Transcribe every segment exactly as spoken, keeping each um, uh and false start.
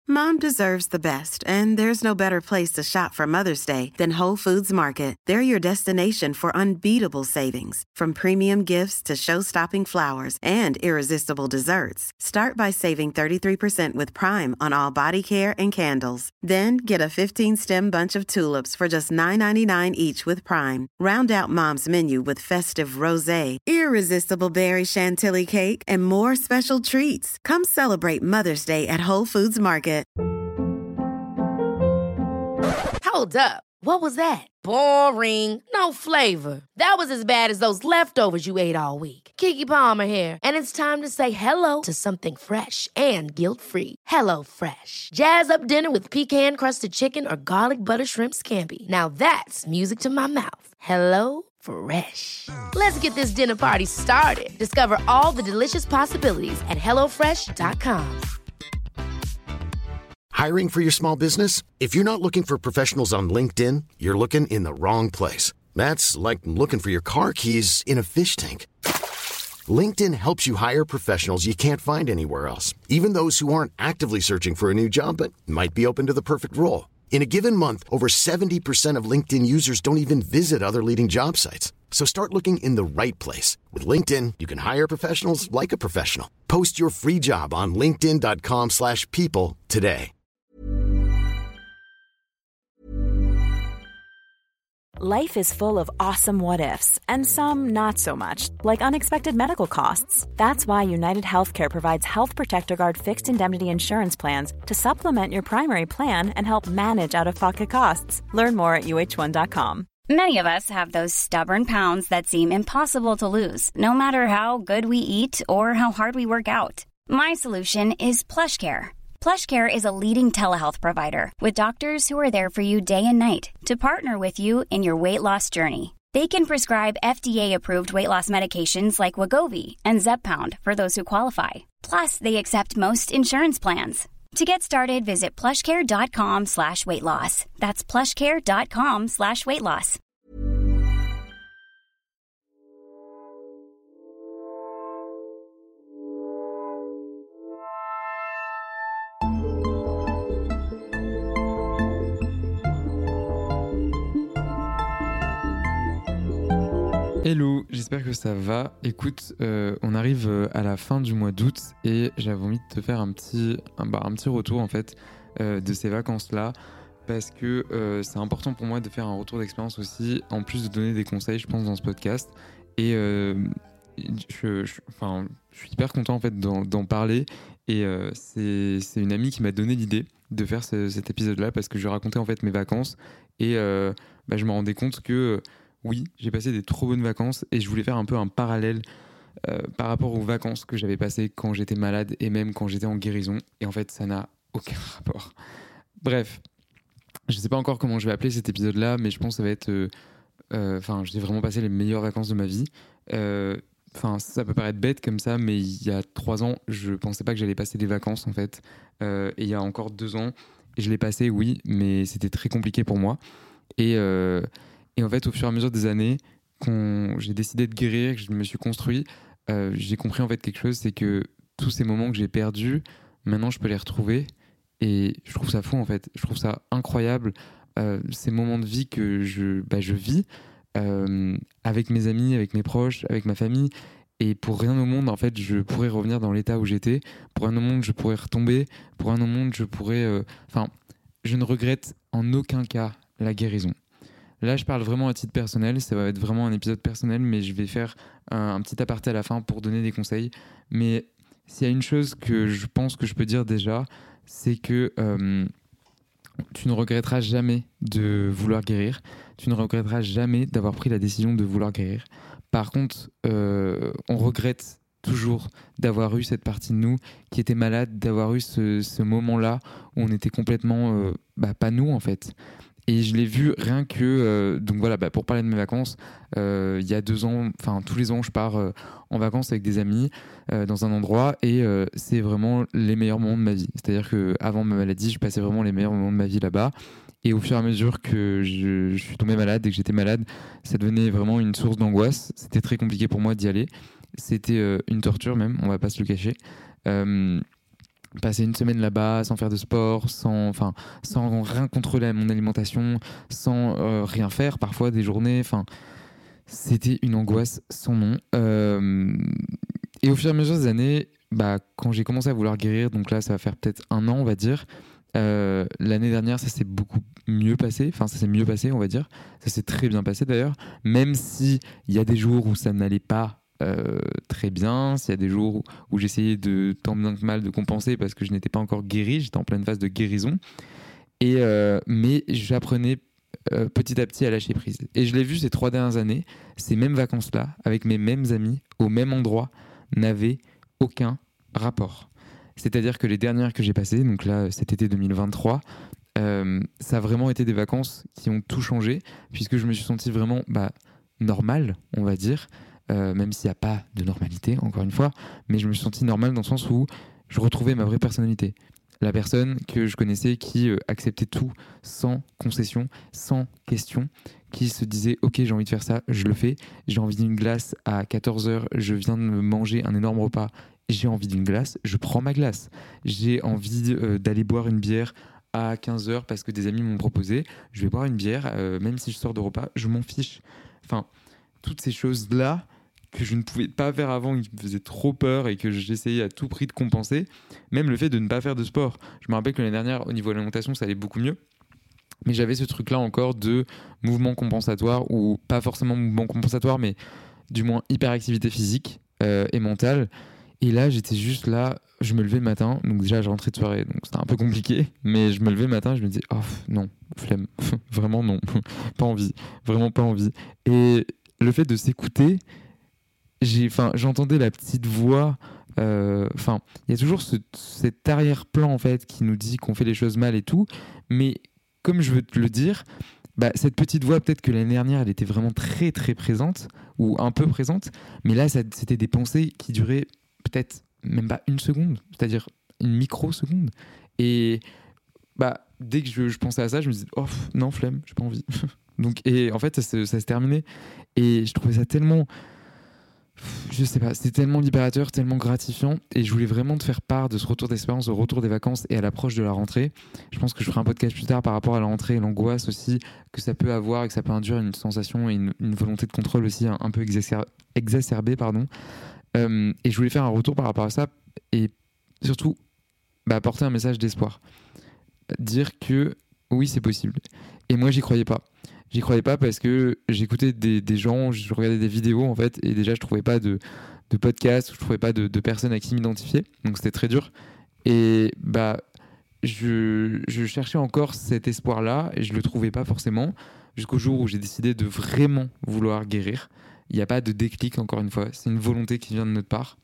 Mom deserves the best, and there's no better place to shop for Mother's Day than Whole Foods Market. They're your destination for unbeatable savings, from premium gifts to show-stopping flowers and irresistible desserts. Start by saving thirty-three percent with Prime on all body care and candles. Then get a fifteen-stem bunch of tulips for just nine ninety-nine each with Prime. Round out Mom's menu with festive rosé, irresistible berry chantilly cake, and more special treats. Come celebrate Mother's Day at Whole Foods Market. Hold up. What was that? Boring. No flavor. That was as bad as those leftovers you ate all week. Keke Palmer here, and it's time to say hello to something fresh and guilt-free. Hello Fresh. Jazz up dinner with pecan-crusted chicken or garlic butter shrimp scampi. Now that's music to my mouth. Hello Fresh. Let's get this dinner party started. Discover all the delicious possibilities at hello fresh dot com. Hiring for your small business? If you're not looking for professionals on LinkedIn, you're looking in the wrong place. That's like looking for your car keys in a fish tank. LinkedIn helps you hire professionals you can't find anywhere else, even those who aren't actively searching for a new job but might be open to the perfect role. In a given month, over seventy percent of LinkedIn users don't even visit other leading job sites. So start looking in the right place. With LinkedIn, you can hire professionals like a professional. Post your free job on linkedin dot com slash people today. Life is full of awesome what-ifs, and some not so much, like unexpected medical costs. That's why United Healthcare provides Health Protector Guard fixed indemnity insurance plans to supplement your primary plan and help manage out-of-pocket costs. Learn more at U H one dot com. Many of us have those stubborn pounds that seem impossible to lose, no matter how good we eat or how hard we work out. My solution is PlushCare. PlushCare is a leading telehealth provider with doctors who are there for you day and night to partner with you in your weight loss journey. They can prescribe F D A-approved weight loss medications like Wegovy and Zepbound for those who qualify. Plus, they accept most insurance plans. To get started, visit plushcare.com slash weight loss. That's plushcare.com slash weight loss. Hello, j'espère que ça va. Écoute, euh, on arrive à la fin du mois d'août et j'avais envie de te faire un petit, un, bah, un petit retour en fait euh, de ces vacances-là parce que euh, c'est important pour moi de faire un retour d'expérience aussi, en plus de donner des conseils, je pense, dans ce podcast. Et euh, je, je, enfin, je suis hyper content en fait d'en, d'en parler et euh, c'est, c'est une amie qui m'a donné l'idée de faire ce, cet épisode-là parce que je racontais en fait mes vacances et euh, bah, je me rendais compte que oui, j'ai passé des trop bonnes vacances et je voulais faire un peu un parallèle euh, par rapport aux vacances que j'avais passées quand j'étais malade et même quand j'étais en guérison. Et en fait, ça n'a aucun rapport. Bref, je ne sais pas encore comment je vais appeler cet épisode-là, mais je pense que ça va être... Enfin, euh, euh, j'ai vraiment passé les meilleures vacances de ma vie. Enfin, euh, ça peut paraître bête comme ça, mais il y a trois ans, je ne pensais pas que j'allais passer des vacances, en fait. Euh, et il y a encore deux ans, et je l'ai passé, oui, mais c'était très compliqué pour moi. Et... Euh, Et en fait, au fur et à mesure des années, quand j'ai décidé de guérir, que je me suis construit, euh, j'ai compris en fait quelque chose, c'est que tous ces moments que j'ai perdus, maintenant je peux les retrouver. Et je trouve ça fou en fait. Je trouve ça incroyable, euh, ces moments de vie que je, bah, je vis euh, avec mes amis, avec mes proches, avec ma famille. Et pour rien au monde, en fait, je pourrais revenir dans l'état où j'étais. Pour rien au monde, je pourrais retomber. Pour rien au monde, je pourrais... Enfin, euh, je ne regrette en aucun cas la guérison. Là, je parle vraiment à titre personnel, ça va être vraiment un épisode personnel, mais je vais faire un, un petit aparté à la fin pour donner des conseils. Mais s'il y a une chose que je pense que je peux dire déjà, c'est que euh, tu ne regretteras jamais de vouloir guérir, tu ne regretteras jamais d'avoir pris la décision de vouloir guérir. Par contre, euh, on regrette toujours d'avoir eu cette partie de nous qui était malade, d'avoir eu ce, ce moment-là où on était complètement euh, bah, pas nous en fait. Et je l'ai vu rien que... Euh, donc voilà, bah pour parler de mes vacances, euh, il y a deux ans, enfin tous les ans, je pars euh, en vacances avec des amis euh, dans un endroit et euh, c'est vraiment les meilleurs moments de ma vie. C'est-à-dire qu'avant ma maladie, je passais vraiment les meilleurs moments de ma vie là-bas. Et au fur et à mesure que je, je suis tombé malade et que j'étais malade, ça devenait vraiment une source d'angoisse. C'était très compliqué pour moi d'y aller. C'était euh, une torture même, on va pas se le cacher. Euh, passer une semaine là-bas sans faire de sport, sans, enfin, sans rien contrôler mon alimentation, sans euh, rien faire, parfois des journées. Enfin, c'était une angoisse sans nom. Euh, et au fur et à mesure des années, bah, quand j'ai commencé à vouloir guérir, donc là, ça va faire peut-être un an, on va dire. Euh, l'année dernière, ça s'est beaucoup mieux passé. Enfin, ça s'est mieux passé, on va dire. Ça s'est très bien passé d'ailleurs. Même si il y a des jours où ça n'allait pas euh, très bien, s'il y a des jours où, où j'essayais de tant bien que mal de compenser parce que je n'étais pas encore guéri, j'étais en pleine phase de guérison. Et euh, mais j'apprenais euh, petit à petit à lâcher prise. Et je l'ai vu ces trois dernières années. Ces mêmes vacances-là, avec mes mêmes amis, au même endroit, n'avaient aucun rapport. C'est-à-dire que les dernières que j'ai passées, donc là cet été deux mille vingt-trois, euh, ça a vraiment été des vacances qui ont tout changé, puisque je me suis senti vraiment bah, normal, on va dire, euh, même s'il n'y a pas de normalité, encore une fois, mais je me suis senti normal dans le sens où je retrouvais ma vraie personnalité. La personne que je connaissais qui euh, acceptait tout sans concession, sans question, qui se disait « Ok, j'ai envie de faire ça, je le fais. J'ai envie d'une glace à quatorze heures, je viens de me manger un énorme repas. J'ai envie d'une glace, je prends ma glace. J'ai envie euh, d'aller boire une bière à quinze heures parce que des amis m'ont proposé. Je vais boire une bière, euh, même si je sors de repas, je m'en fiche. » Enfin, toutes ces choses-là que je ne pouvais pas faire avant, qui me faisaient trop peur et que j'essayais à tout prix de compenser. Même le fait de ne pas faire de sport. Je me rappelle que l'année dernière, au niveau de l'alimentation, ça allait beaucoup mieux. Mais j'avais ce truc-là encore de mouvement compensatoire, ou pas forcément mouvement compensatoire, mais du moins hyperactivité physique euh, et mentale. Et là, j'étais juste là, je me levais le matin, donc déjà je rentrais de soirée, donc c'était un peu compliqué, mais je me levais le matin, je me disais, oh non, flemme, vraiment non, pas envie, vraiment pas envie. Et le fait de s'écouter, j'ai, j'entendais la petite voix, enfin, euh, il y a toujours ce, cet arrière-plan en fait qui nous dit qu'on fait les choses mal et tout, mais comme je veux te le dire, bah, cette petite voix, peut-être que l'année dernière, elle était vraiment très très présente, ou un peu présente, mais là, ça, c'était des pensées qui duraient peut-être même pas une seconde, c'est-à-dire une microseconde. Et bah, dès que je, je pensais à ça, je me disais oh non, flemme, j'ai pas envie. Donc, et en fait, ça se, ça se terminait. Et je trouvais ça tellement, je sais pas, c'était tellement libérateur, tellement gratifiant. Et je voulais vraiment te faire part de ce retour d'expérience, au retour des vacances et à l'approche de la rentrée. Je pense que je ferai un podcast plus tard par rapport à la rentrée et l'angoisse aussi que ça peut avoir et que ça peut induire une sensation et une, une volonté de contrôle aussi un, un peu exacer, exacerbée, pardon. Euh, et je voulais faire un retour par rapport à ça et surtout bah, apporter un message d'espoir, dire que oui, c'est possible. Et moi, j'y croyais pas. J'y croyais pas parce que j'écoutais des, des gens, je regardais des vidéos en fait, et déjà je trouvais pas de, de podcast, je trouvais pas de, de personnes à qui m'identifier, donc c'était très dur. Et bah je, je cherchais encore cet espoir-là et je le trouvais pas forcément jusqu'au jour où j'ai décidé de vraiment vouloir guérir. Il n'y a pas de déclic, encore une fois, c'est une volonté qui vient de notre part.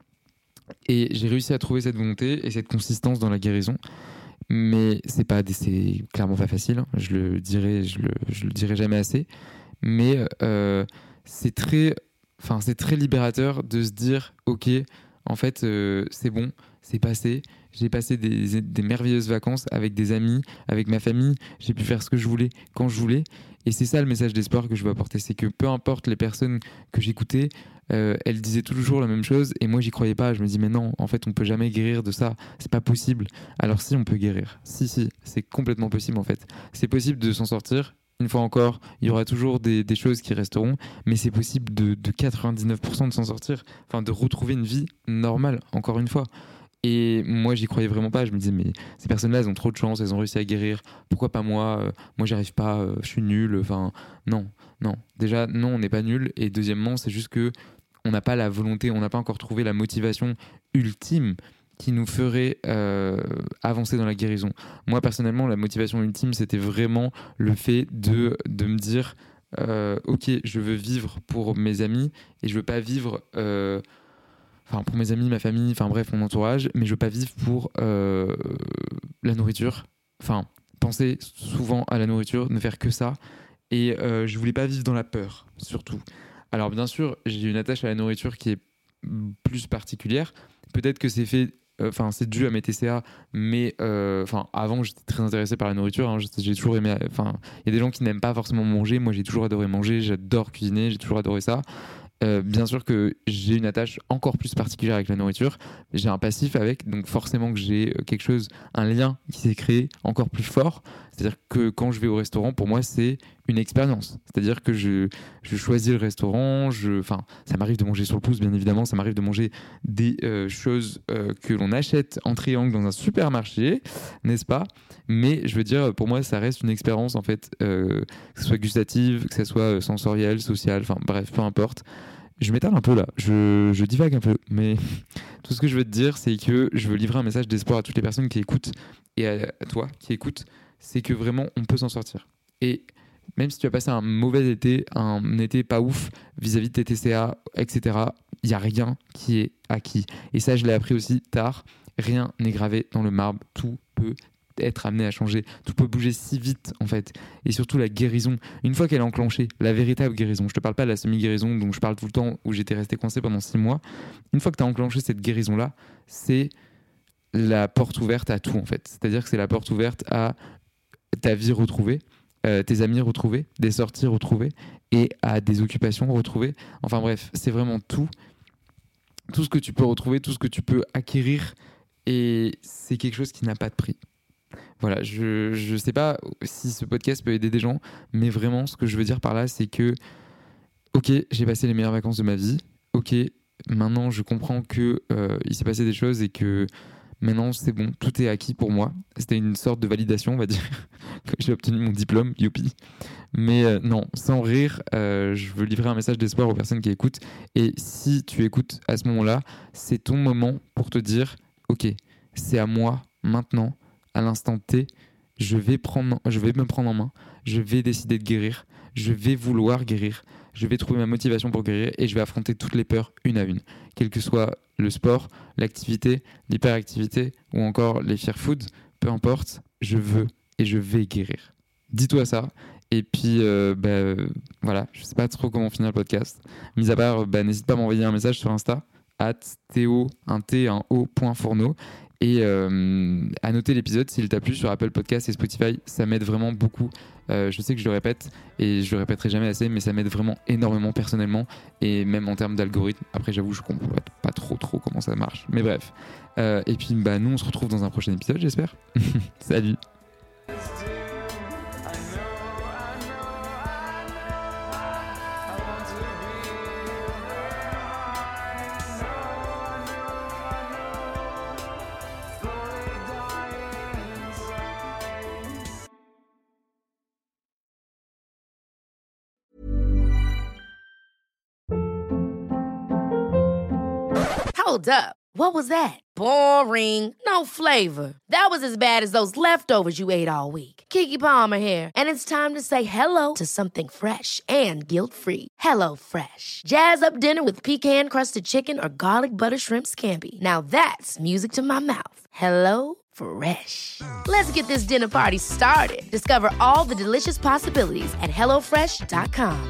Et j'ai réussi à trouver cette volonté et cette consistance dans la guérison. Mais c'est pas, c'est clairement pas facile. Je le dirai, je le, je le dirai jamais assez. Mais euh, c'est très, enfin c'est très libérateur de se dire, ok, en fait, euh, c'est bon, c'est passé. J'ai passé des, des merveilleuses vacances avec des amis, avec ma famille. J'ai pu faire ce que je voulais quand je voulais. Et c'est ça le message d'espoir que je veux apporter, c'est que peu importe les personnes que j'écoutais, euh, elles disaient toujours la même chose et moi j'y croyais pas. Je me dis mais non, en fait on peut jamais guérir de ça, c'est pas possible. Alors si, on peut guérir, si si, c'est complètement possible en fait. C'est possible de s'en sortir. Une fois encore, il y aura toujours des, des choses qui resteront, mais c'est possible de, de quatre-vingt-dix-neuf pour cent de s'en sortir, enfin de retrouver une vie normale, encore une fois. Et moi, j'y croyais vraiment pas. Je me disais, mais ces personnes-là, elles ont trop de chance, elles ont réussi à guérir. Pourquoi pas moi euh, Moi, j'y arrive pas, euh, je suis nul. Enfin, non, non. Déjà, non, on n'est pas nul. Et deuxièmement, c'est juste que on n'a pas la volonté, on n'a pas encore trouvé la motivation ultime qui nous ferait euh, avancer dans la guérison. Moi, personnellement, la motivation ultime, c'était vraiment le fait de, de me dire, euh, ok, je veux vivre pour mes amis et je veux pas vivre... Euh, Enfin, pour mes amis, ma famille, enfin bref, mon entourage, mais je veux pas vivre pour euh, la nourriture. Enfin, penser souvent à la nourriture, ne faire que ça. Et euh, je voulais pas vivre dans la peur, surtout. Alors bien sûr, j'ai une attache à la nourriture qui est plus particulière. Peut-être que c'est fait, enfin euh, c'est dû à mes T C A, mais euh, enfin avant j'étais très intéressé par la nourriture. Hein, j'ai toujours aimé. Enfin, il y a des gens qui n'aiment pas forcément manger. Moi, j'ai toujours adoré manger. J'adore cuisiner. J'ai toujours adoré ça. Euh, bien sûr que j'ai une attache encore plus particulière avec la nourriture, j'ai un passif avec, donc forcément que j'ai quelque chose, un lien qui s'est créé encore plus fort. C'est-à-dire que quand je vais au restaurant, pour moi, c'est une expérience. C'est-à-dire que je, je choisis le restaurant, je, enfin, ça m'arrive de manger sur le pouce, bien évidemment, ça m'arrive de manger des euh, choses euh, que l'on achète en triangle dans un supermarché, n'est-ce pas ? Mais je veux dire, pour moi, ça reste une expérience, en fait, euh, que ce soit gustative, que ce soit sensorielle, sociale, enfin bref, peu importe. Je m'étale un peu là, je, je divague un peu, mais tout ce que je veux te dire, c'est que je veux livrer un message d'espoir à toutes les personnes qui écoutent et à, à toi qui écoutes, c'est que vraiment on peut s'en sortir. Et même si tu as passé un mauvais été, un été pas ouf vis-à-vis de tes T C A, et cetera, il n'y a rien qui est acquis. Et ça, je l'ai appris aussi tard, rien n'est gravé dans le marbre, tout peut être amené à changer, tout peut bouger si vite en fait, et surtout la guérison, une fois qu'elle est enclenchée, la véritable guérison, je te parle pas de la semi-guérison dont je parle tout le temps, où j'étais resté coincé pendant six mois, une fois que tu as enclenché cette guérison là, c'est la porte ouverte à tout en fait, c'est-à-dire que c'est la porte ouverte à ta vie retrouvée, euh, tes amis retrouvés, des sorties retrouvées, et à des occupations retrouvées, enfin bref, c'est vraiment tout, tout ce que tu peux retrouver, tout ce que tu peux acquérir, et c'est quelque chose qui n'a pas de prix. Voilà, je ne sais pas si ce podcast peut aider des gens, mais vraiment, ce que je veux dire par là, c'est que, ok, j'ai passé les meilleures vacances de ma vie, ok, maintenant je comprends qu'il euh, s'est passé des choses et que maintenant c'est bon, tout est acquis pour moi. C'était une sorte de validation, on va dire, que j'ai obtenu mon diplôme, youpi. Mais euh, non, sans rire, euh, je veux livrer un message d'espoir aux personnes qui écoutent. Et si tu écoutes à ce moment-là, c'est ton moment pour te dire, ok, c'est à moi maintenant, à l'instant T, je vais, prendre, je vais me prendre en main, je vais décider de guérir, je vais vouloir guérir, je vais trouver ma motivation pour guérir et je vais affronter toutes les peurs une à une, quel que soit le sport, l'activité, l'hyperactivité ou encore les fear foods, peu importe, je veux et je vais guérir. Dis-toi ça. Et puis, euh, bah, euh, voilà, je sais pas trop comment finir le podcast. Mis à part, bah, n'hésite pas à m'envoyer un message sur Insta, at théo, un T, un O, point fourneau. Et euh, à noter l'épisode s'il t'a plu sur Apple Podcasts et Spotify, ça m'aide vraiment beaucoup. Euh, je sais que je le répète et je le répéterai jamais assez, mais ça m'aide vraiment énormément personnellement et même en termes d'algorithme. Après, j'avoue, je comprends pas trop trop comment ça marche, mais bref. Euh, et puis, bah, nous, on se retrouve dans un prochain épisode, j'espère. Salut. Hold up. What was that? Boring. No flavor. That was as bad as those leftovers you ate all week. Keke Palmer here, and it's time to say hello to something fresh and guilt-free. Hello Fresh. Jazz up dinner with pecan-crusted chicken or garlic butter shrimp scampi. Now that's music to my mouth. Hello Fresh. Let's get this dinner party started. Discover all the delicious possibilities at hello fresh dot com.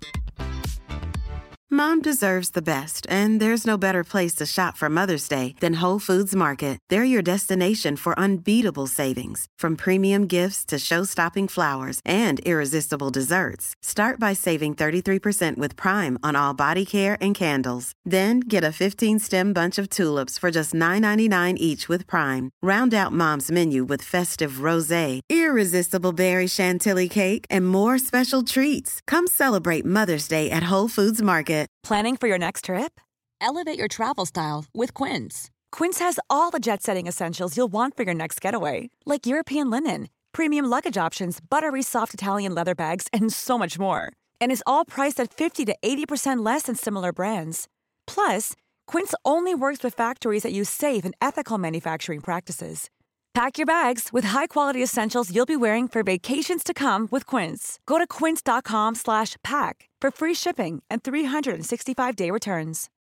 Mom deserves the best, and there's no better place to shop for Mother's Day than Whole Foods Market. They're your destination for unbeatable savings, from premium gifts to show-stopping flowers and irresistible desserts. Start by saving thirty-three percent with Prime on all body care and candles. Then get a fifteen-stem bunch of tulips for just nine ninety-nine each with Prime. Round out Mom's menu with festive rosé, irresistible berry chantilly cake, and more special treats. Come celebrate Mother's Day at Whole Foods Market. Planning for your next trip? Elevate your travel style with Quince. Quince has all the jet-setting essentials you'll want for your next getaway, like European linen, premium luggage options, buttery soft Italian leather bags, and so much more. And is all priced at fifty to eighty percent less than similar brands. Plus, Quince only works with factories that use safe and ethical manufacturing practices. Pack your bags with high-quality essentials you'll be wearing for vacations to come with Quince. Go to quince dot com slash pack for free shipping and three sixty-five day returns.